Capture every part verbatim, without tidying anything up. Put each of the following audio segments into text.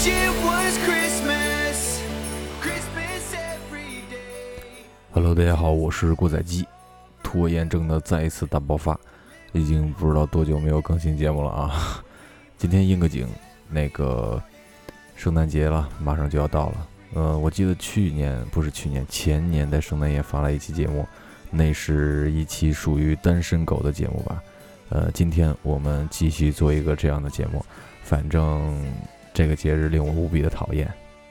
Hello， 大家好，我是过载机。拖延症的再一次大爆发，已经不知道多久没有更新节目了啊！今天应个景，那个圣诞节了，马上就要到了。呃，我记得去年不是去年，前年在圣诞夜发了一期节目，那是一期属于单身狗的节目吧。呃，今天我们继续做一个这样的节目，反正这个节日令我无比的讨厌。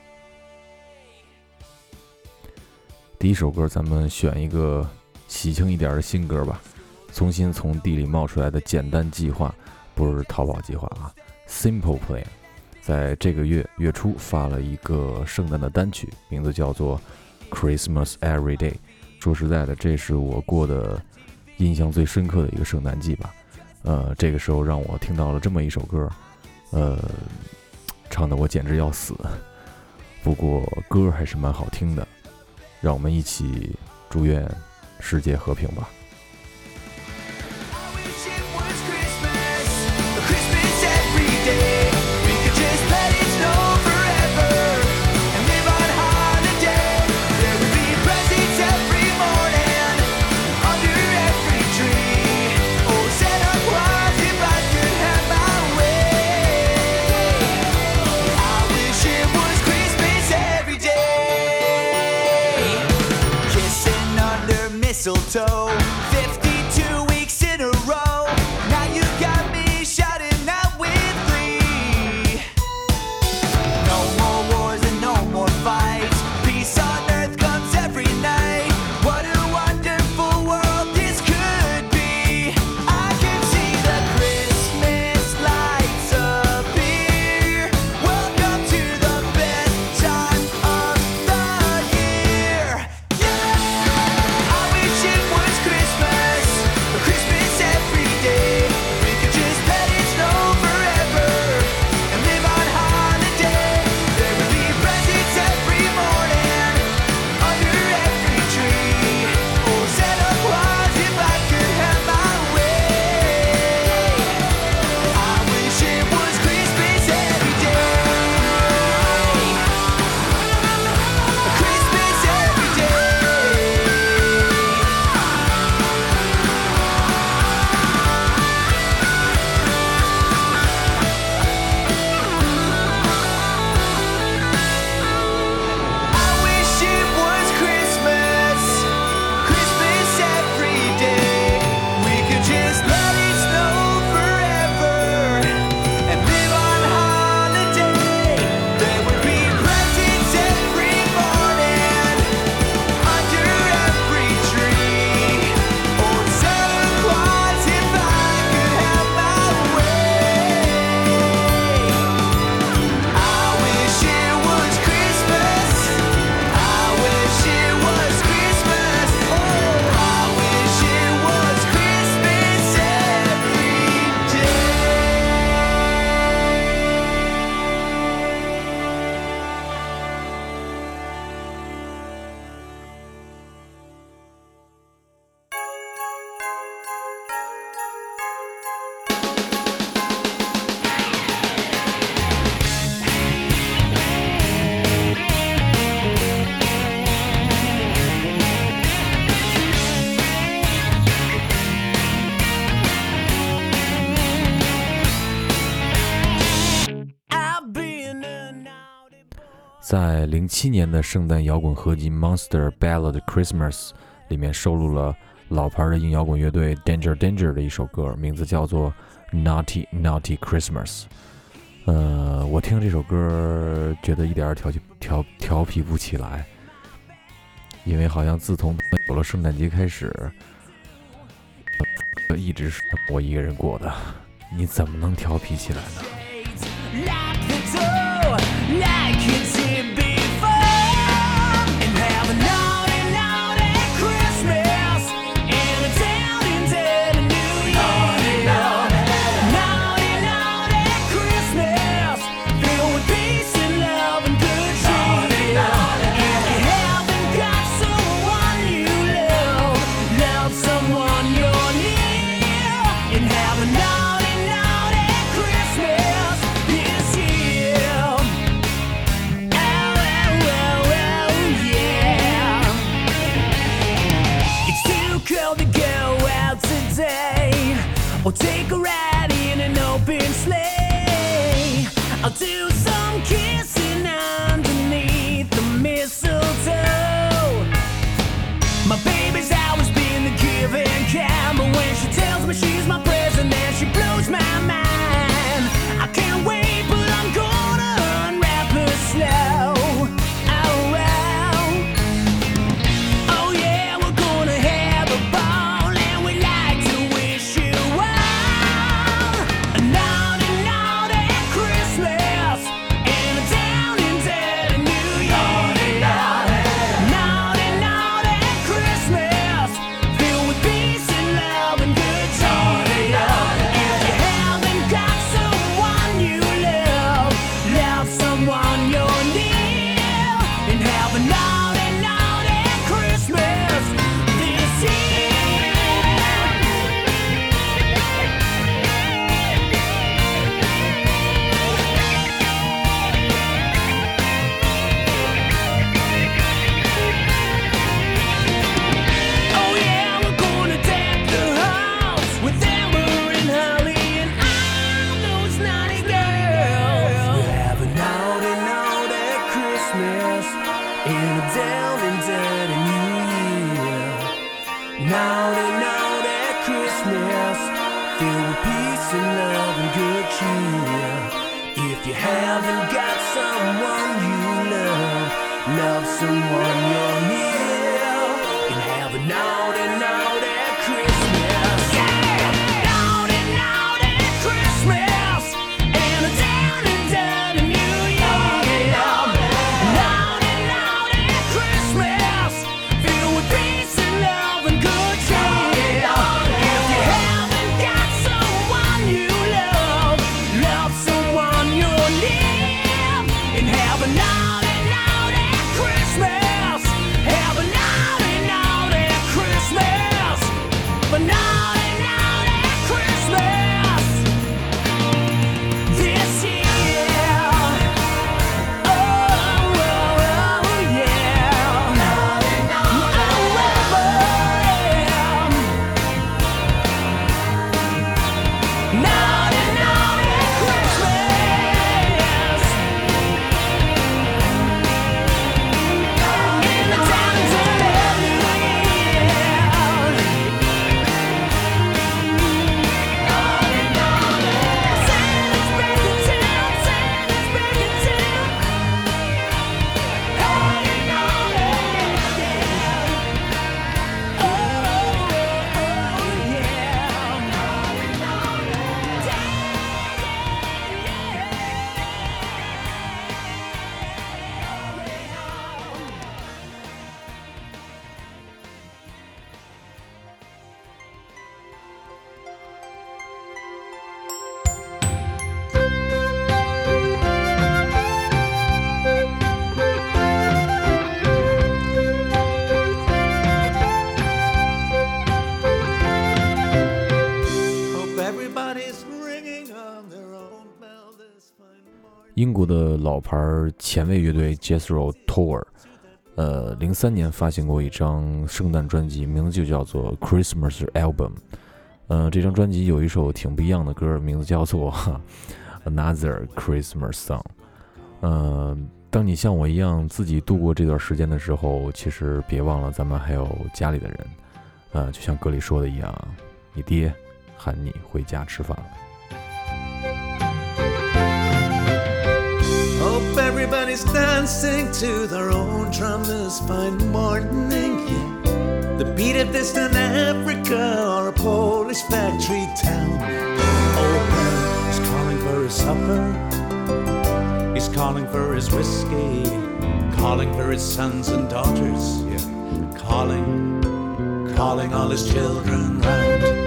第一首歌，咱们选一个喜庆一点的新歌吧。重新从地里冒出来的简单计划，不是淘宝计划啊 ，Simple Plan， 在这个月月初发了一个圣诞的单曲，名字叫做 Christmas Every Day。说实在的，这是我过的印象最深刻的一个圣诞季吧。呃，这个时候让我听到了这么一首歌，呃，唱得我简直要死。不过歌还是蛮好听的。让我们一起祝愿世界和平吧。 Mistletoe, fifty-two weeks in a row. Now you got me shouting out with glee. No more wars and no more fights. Peace on earth comes every night. What a wonderful world this could be. I can see the Christmas lights appear. Welcome to the best time of the year. Yeah, I wish it was Christmas, Christmas every day. We could just let it snow forever and live on holiday. There would be presents every morning under every tree. Oh, Santa Claus, if I could have my way. I wish it was Christmas every day. Christmas every day. I wish it was Christmas, Christmas every day. We could just let it snow forever and live on holiday. There would be presents every morning under every tree. Oh, Santa Claus, if I could have my way. I wish it was Christmas. I wish it was Christmas. Oh, I wish it was Christmas every day. 在零七年的圣诞摇滚合集《Monster Ballad Christmas》里面收录了老牌的硬摇滚乐队 Danger Danger 的一首歌，名字叫做 Naughty Naughty Christmas。呃，我听这首歌觉得一点调调调皮不起来，因为好像自从有了圣诞节开始，呃、一直是我一个人过的，你怎么能调皮起来呢？ Lock the door, like you did before, and have a naughty, naughty Christmas, and a down and dead New Year. Naughty, naughty Christmas, filled with peace and love and good cheer. If you haven't got someone you love, love someone you're near, and have a naughty, naughty Christmas this year. girl to go out today, or take a ride in an open sleigh. I'll do some kissing underneath the mistletoe. My baby's always been the giving kind, but when she tells me she's my present, then she blows my mind. I can't wait, but I'm gonna unwrap her slow. Oh, well. Oh yeah, we're gonna have a ball, and we'd like to wish you well a naughty, naughty Christmas and a down and dirty New Year. Naughty, naughty Christmas, filled with peace and love and good cheer. If you haven't got someone you love, love someone you're near, and have a naughty, naughty Christmas this year. Oh yeah, we're gonna deck the halls with amber and holly and all those naughty girls. We'll have a naughty, naughty Christmas in a down and dirty New Year. Naughty, naughty Christmas, filled with peace and love and good cheer. If you haven't got someone you love, love someone you're near, and have a naughty, naughty Christmas. Yeah! Naughty, naughty Christmas and a down and dirty New Year. Naughty, naughty Christmas, filled with peace and love and good cheer. If you haven't got someone you love, love someone you're near, and have a naughty, naughty Christmas. Have a naughty, naughty Christmas. But naughty, naughty Christmas this year. Oh, oh, oh, yeah. Naughty, naughty Naughty, naughty Christmas. In the down and dirty New Year. Santa's breaking down, Santa's breaking down. Naughty, naughty, yeah. Oh, oh, yeah. Naughty, naughty, Hope everybody's ringing on their own bell this fine morning. 英国的老牌前卫乐队 Jethro Tull， 呃，零三年发行过一张圣诞专辑，名字就叫做 Christmas Album。呃，这张专辑有一首挺不一样的歌，名字叫做 Another Christmas Song。呃，当你像我一样自己度过这段时间的时候，其实别忘了咱们还有家里的人。呃，就像歌里说的一样，你爹喊你回家吃饭了。 Hope everybody's dancing to their own drum this fine morning. Yeah. The beat of distant Africa or a Polish factory town. Oh, Ben is calling for his supper. He's calling for his whiskey. Calling for his sons and daughters. Yeah. Calling, calling all his children round.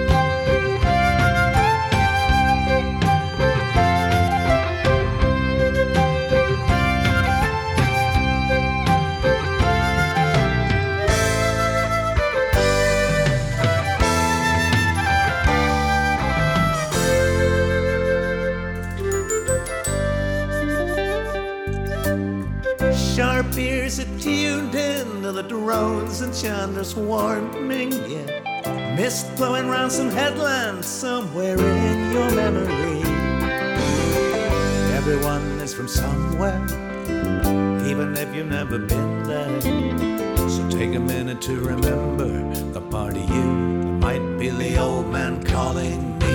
Sharp ears are tuned in to the drones and Chandler's warning, yeah. Mist blowing round some headlands somewhere in your memory. Everyone is from somewhere, even if you've never been there. So take a minute to remember the part of you that might be the old man calling me.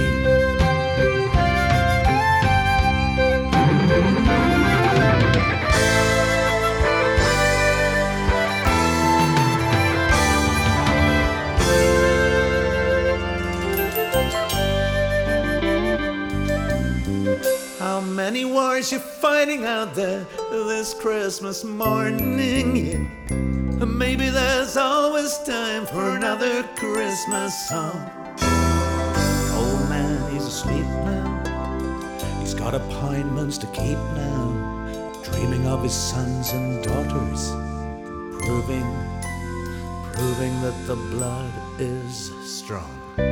How many wars you fighting out there this Christmas morning? Yeah. Maybe there's always time for another Christmas song. Old man, he's asleep now. He's got appointments to keep now, dreaming of his sons and daughters, proving, proving that the blood is strong.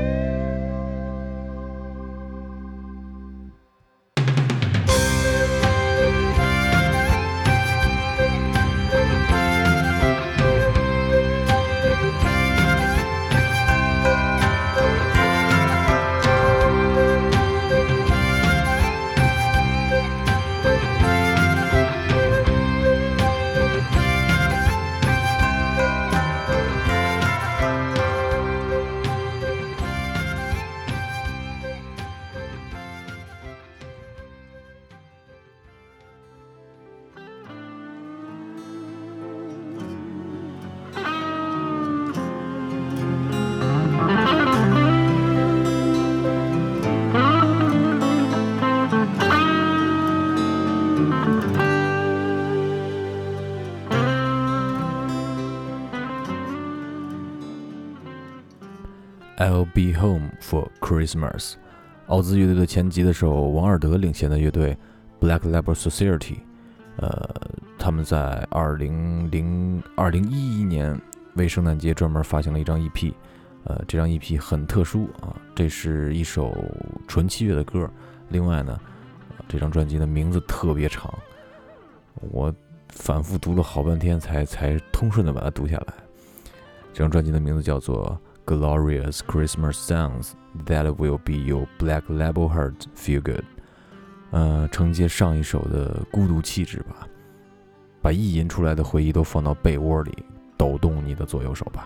I'll be home for Christmas。奥兹乐队的前吉他手王尔德领衔的乐队 Black Label Society， 呃，他们在二零零二零一一年为圣诞节专门发行了一张 E P， 呃，这张 E P 很特殊啊，这是一首纯器乐的歌。另外呢，这张专辑的名字特别长，我反复读了好半天才才通顺的把它读下来。这张专辑的名字叫做Glorious Christmas Songs That Will Be Your Black Label Heart Feel Good。 呃，承接上一首的孤独气质吧，把意淫出来的回忆都放到被窝里，抖动你的左右手吧。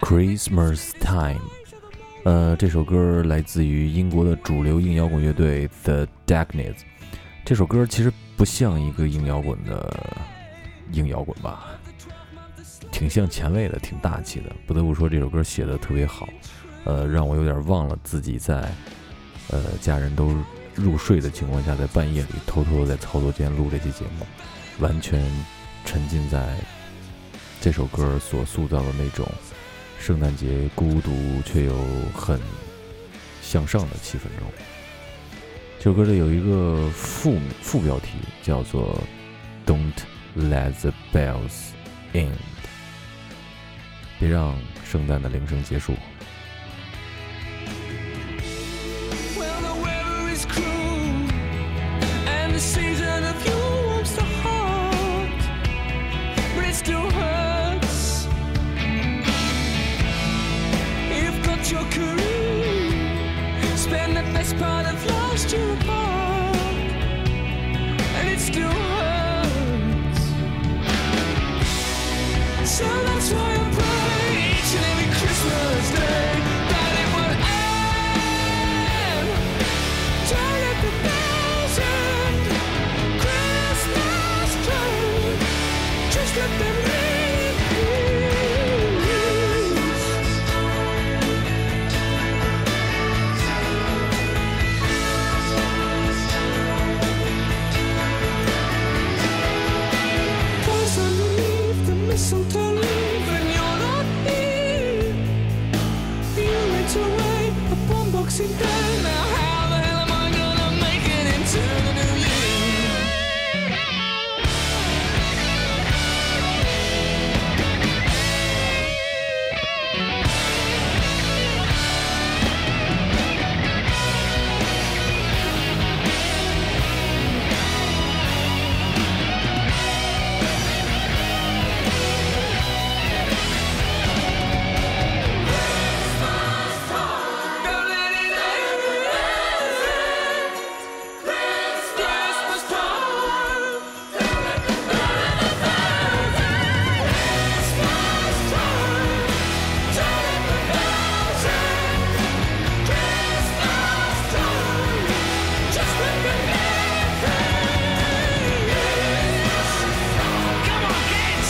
Christmas Time。呃，这首歌来自于英国的主流硬摇滚乐队 The Darkness。这首歌其实不像一个硬摇滚的硬摇滚吧，挺像前卫的，挺大气的。不得不说，这首歌写的特别好，呃，让我有点忘了自己在呃家人都入睡的情况下，在半夜里偷偷在操作间录这期节目，完全沉浸在这首歌所塑造的那种圣诞节孤独却又很向上的气氛中。这首歌里有一个副副标题叫做 Don't Let the Bells End， 别让圣诞的铃声结束。 Well, the weather is cruel, and the season of you warms the heart, but it still hurts. You've got your career, spend the best part of last year apart, and it still hurts. So that's why I pray each and every Christmas day that it would end. Don't let the bells end. Christmas time, just let them ring. Boys underneath the mistletoe leaf, and you're not here. You went away upon Boxing Day. Now how the hell am I gonna make it into the new year? Don't let it end. Christmas time. Christmas time. Don't let the bells end. Christmas time. Just let them ring. Come on, kids.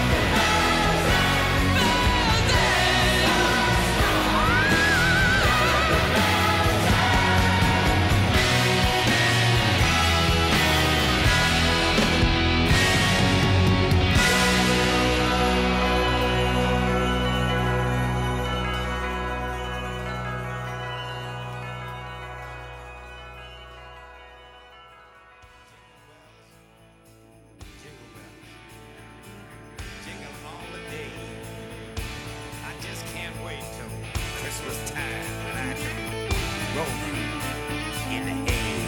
Jingle all the day. I just can't wait till Christmas time when I can roll through in the hay.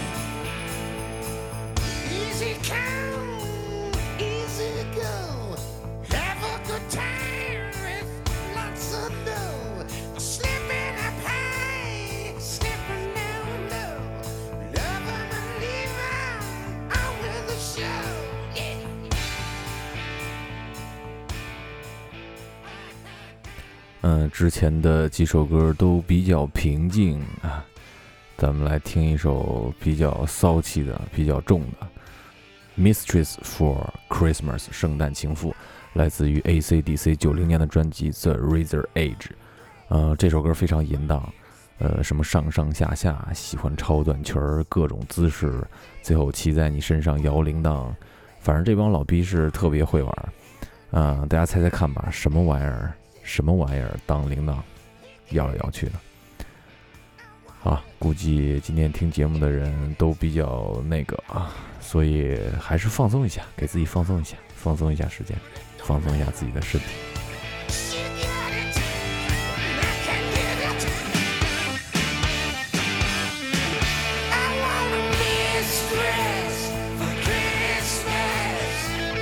Easy come, easy go. Have a good time with lots of dough. Slipping up high, slipping down low. Love 'em and leave 'em on with the show. Yeah. 嗯，之前的几首歌都比较平静啊，咱们来听一首比较骚气的、比较重的《Mistress for Christmas》圣诞情妇，来自于 A C D C 九零年的专辑《The Razor Edge》。呃，这首歌非常淫荡，呃，什么上上下下，喜欢超短裙儿，各种姿势，最后骑在你身上摇铃铛，反正这帮老逼是特别会玩。啊、呃，大家猜猜看吧，什么玩意儿？什么玩意儿当铃铛摇来摇去的？好，估计今天听节目的人都比较那个啊，所以还是放松一下，给自己放松一下，放松一下时间，放松一下自己的身体。 You got it, I can get it. I want a mistress for Christmas.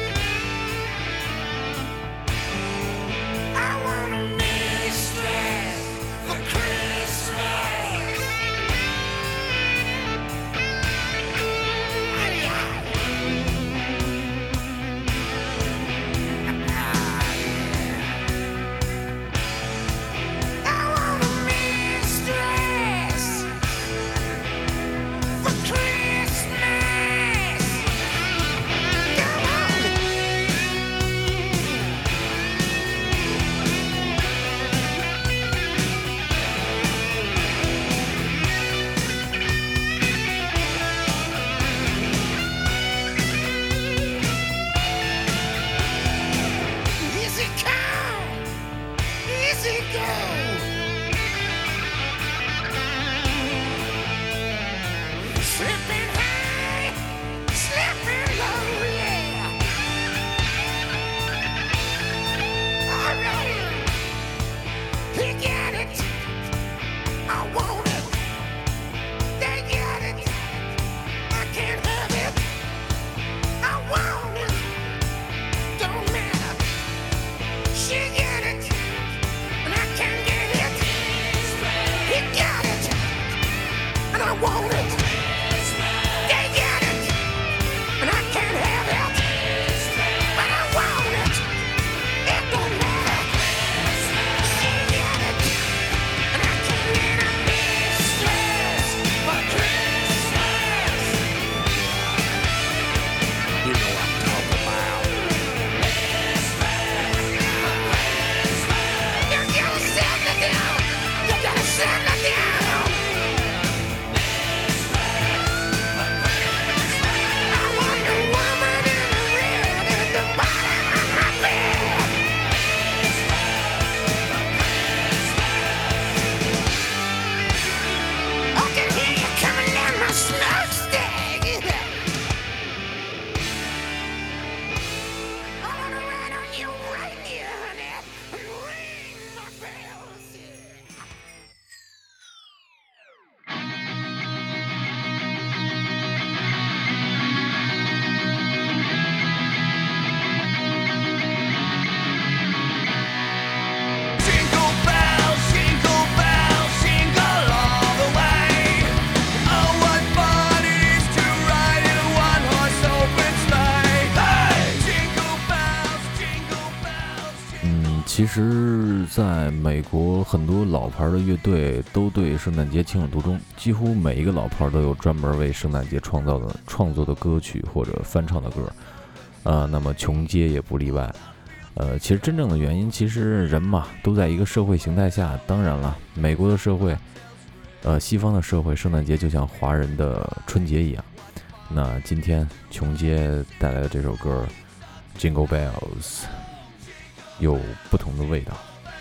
I want a mistress for Christmas. Ah, yeah. 其实在美国很多老牌的乐队都对圣诞节情有独钟，几乎每一个老牌都有专门为圣诞节创造的创作的歌曲或者翻唱的歌，呃，那么琼街也不例外。呃，其实真正的原因，其实人嘛都在一个社会形态下，当然了，美国的社会，呃，西方的社会，圣诞节就像华人的春节一样。那今天琼街带来的这首歌《Jingle Bells》有不同的味道。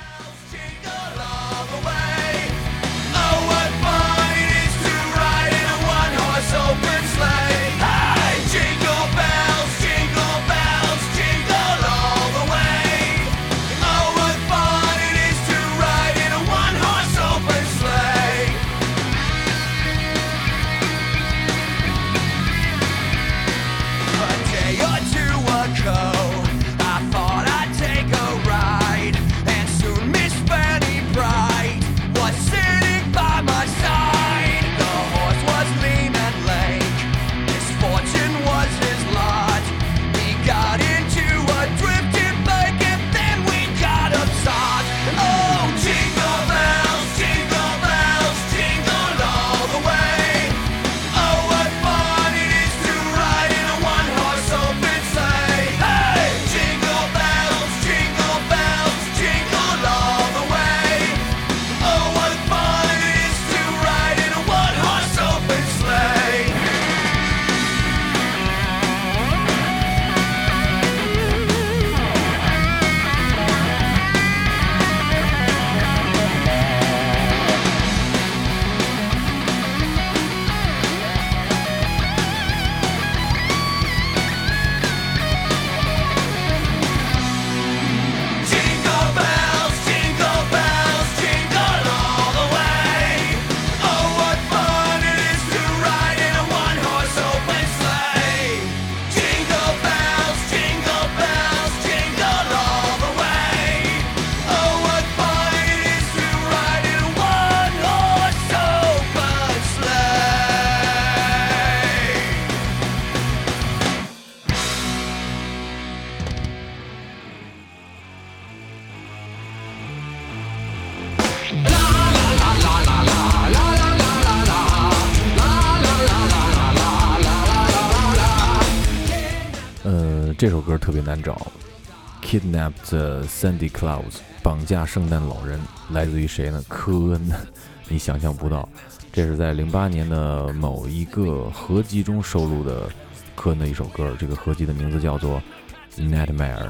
这首歌特别难找 Kidnapped the Sandy Claus 绑架圣诞老人，来自于谁呢？科恩。你想象不到，这是在零八年的某一个合集中收录的科恩的一首歌，这个合集的名字叫做 Nightmare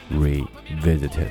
Revisited。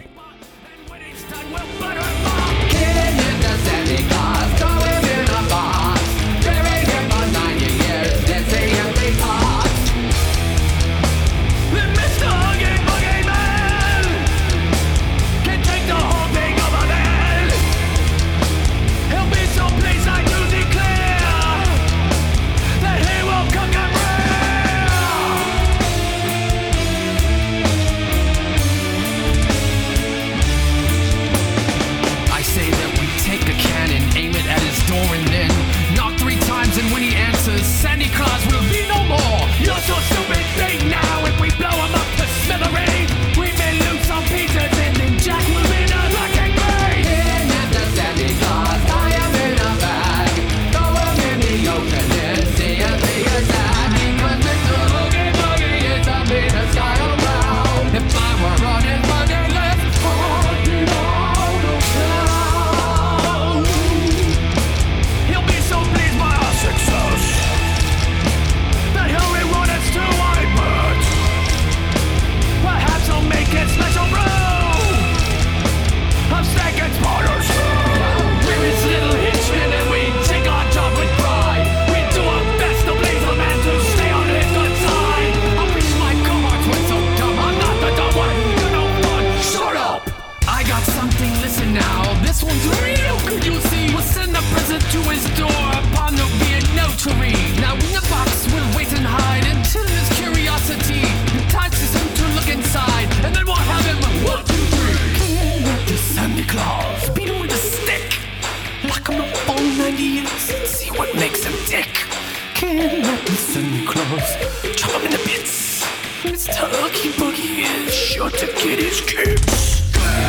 Chop him into bits. Mister Oogie Boogie is sure to get his kicks.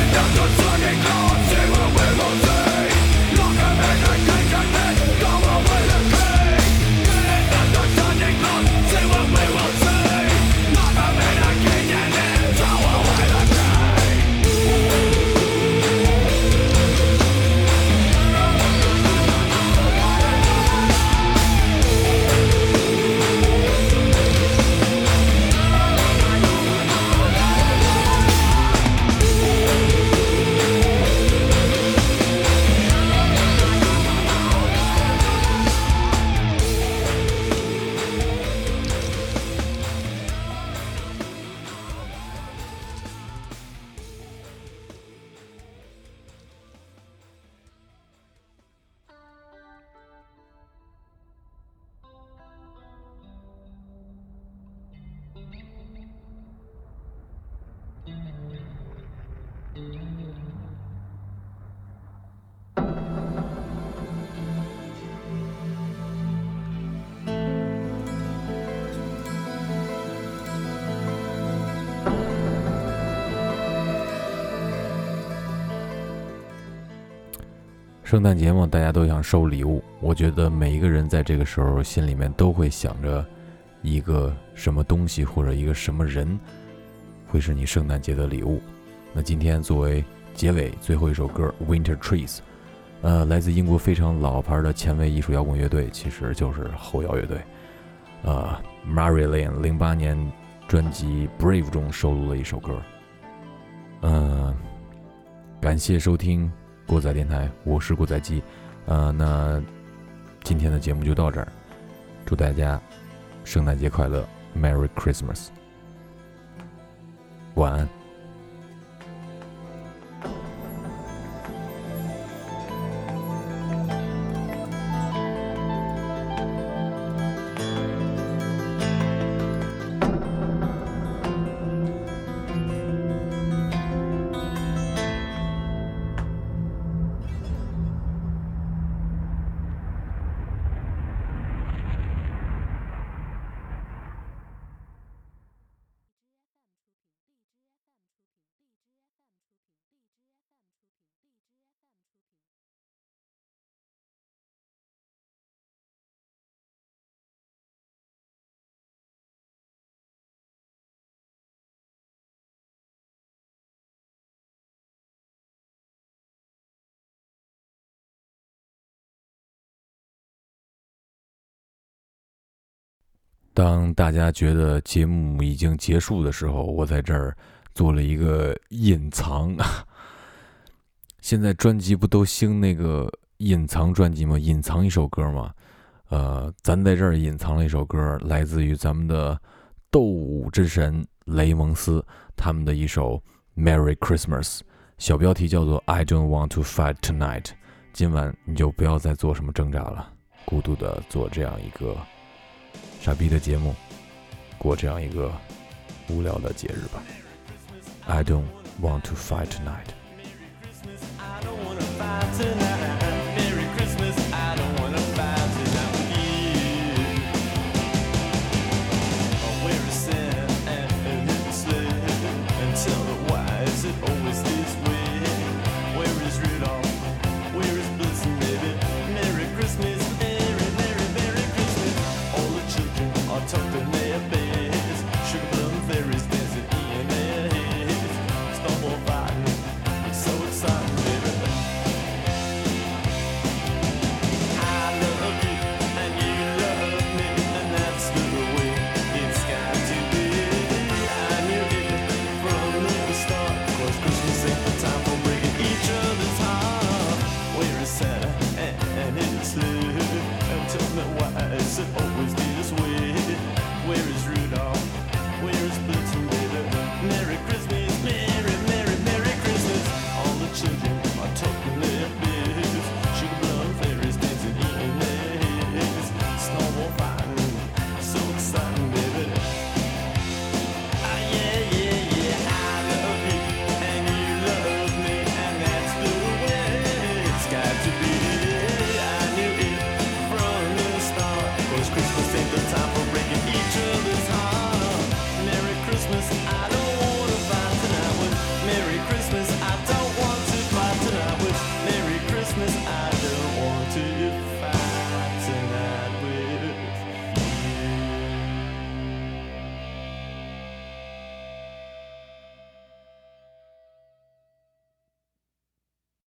圣诞节嘛，大家都想收礼物。我觉得每一个人在这个时候心里面都会想着一个什么东西或者一个什么人会是你圣诞节的礼物。那今天作为结尾最后一首歌 Winter Trees， 呃，来自英国非常老牌的前卫艺术摇滚乐队，其实就是后摇乐队。呃 Marilyn 零八年专辑 Brave 中收录了一首歌。呃，感谢收听过载电台，我是过载机。呃，那今天的节目就到这儿，祝大家圣诞节快乐 ，Merry Christmas， 晚安。当大家觉得节目已经结束的时候，我在这儿做了一个隐藏。现在专辑不都兴那个隐藏专辑吗？隐藏一首歌吗？呃，咱在这儿隐藏了一首歌，来自于咱们的斗舞之神雷蒙斯他们的一首 Merry Christmas， 小标题叫做 I don't want to fight tonight。 今晚你就不要再做什么挣扎了，孤独的做这样一个傻逼的节目，过这样一个无聊的节日吧。 I don't want to fight tonight。 I don't wanna fight tonight. Merry Christmas, I don't wanna fight tonight with you. Oh, where is Santa and his sled? And tell me why is it always this way? Where is Rudolph? Where is Blitzen, baby? Merry Christmas, Merry, Merry, Merry Christmas. All the children are tucked in their beds. Sugar plum fairies dancing in their heads. Snowball fighting, it's so exciting. Is it always this way? Where is Rudolph? Where is Blitzen, baby? Merry Christmas, Merry, Merry, Merry Christmas. All the children are tucking their beds. Sugar plum fairies dancing in their heads. Snowball fighting, so exciting.